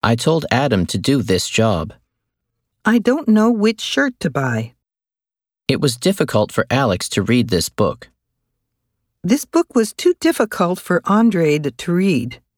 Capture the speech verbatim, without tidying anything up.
I told Adam to do this job. I don't know which shirt to buy. It was difficult for Alex to read this book. This book was too difficult for Andre to read.